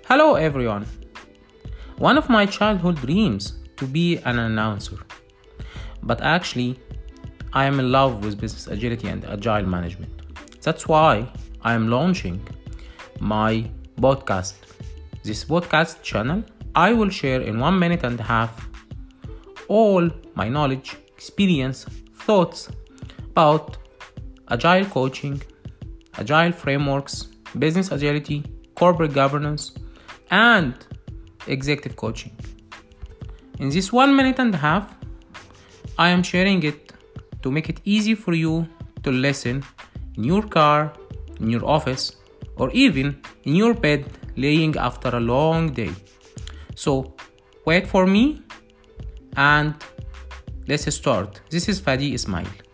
Hello everyone. One of my childhood dreams to be an announcer. But actually, I am in love with business agility and agile management. That's why I am launching my podcast. This podcast channel, I will share in 1.5 minutes all my knowledge, experience, thoughts about agile coaching, agile frameworks, business agility, corporate governance, and executive coaching. In this 1.5 minutes, I am sharing it to make it easy for you to listen in your car, in your office, or even in your bed laying after a long day. So wait for me and let's start. This is Fadi Ismail.